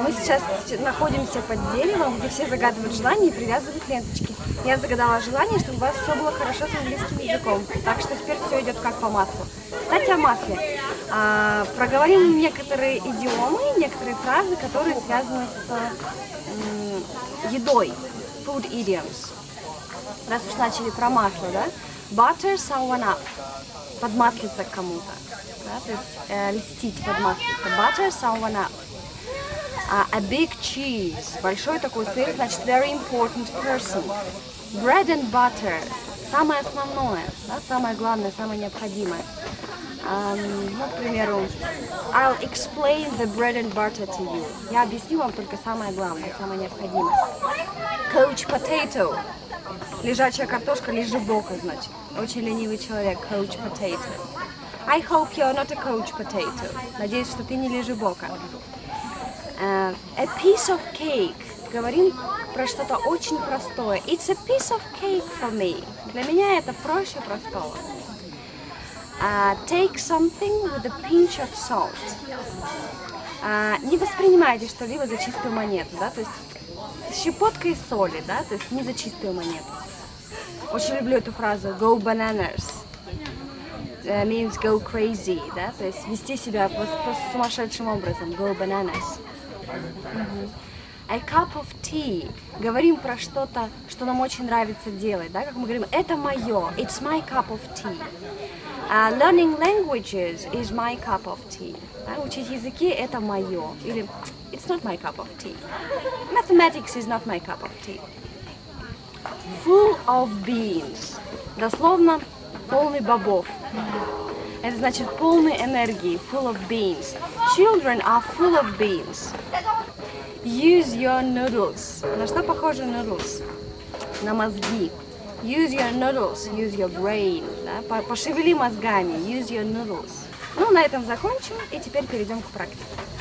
Мы сейчас находимся под деревом, где все загадывают желания и привязывают ленточки. Я загадала желание, чтобы у вас все было хорошо с английским языком. Так что теперь все идет как по маслу. Кстати, о масле. Проговорим некоторые идиомы, некоторые фразы, которые связаны с едой. Food idioms. Раз уж начали про масло, да? Butter someone up. Подмаслиться к кому-то. Да? То есть льстить, подмаслиться. Butter someone up. A big cheese. Большой такой сыр, значит, very important person. Bread and butter. Самое основное, да? Самое главное, самое необходимое. Ну, к примеру, I'll explain the bread and butter to you. Я объясню вам только самое главное, самое необходимое. Coach potato. Лежачая картошка, лежебока, значит. Очень ленивый человек, coach potato. I hope you're not a coach potato. Надеюсь, что ты не лежебока. A piece of cake. Говорим про что-то очень простое. It's a piece of cake for me. Для меня это проще простого. Take something with a pinch of salt. Не воспринимайте что-либо за чистую монету, да, то есть с щепоткой соли, да, то есть не за чистую монету. Очень люблю эту фразу go bananas. Means go crazy, да, то есть вести себя просто сумасшедшим образом. Go bananas. A cup of tea. Говорим про что-то, что нам очень нравится делать, да, как мы говорим, это мое, it's my cup of tea. Learning languages is my cup of tea. Да, учить языки это мое. Или it's not my cup of tea. Mathematics is not my cup of tea. Full of beans. Дословно полный бобов. Это значит полный энергии. Full of beans. Children are full of beans. Use your noodles. На что похожи noodles? На мозги. Use your noodles, use your brain. Да? Пошевели мозгами, use your noodles. Ну, на этом закончим и теперь перейдем к практике.